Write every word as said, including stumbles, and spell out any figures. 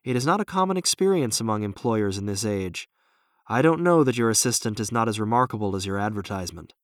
It is not a common experience among employers in this age. I don't know that your assistant is not as remarkable as your advertisement."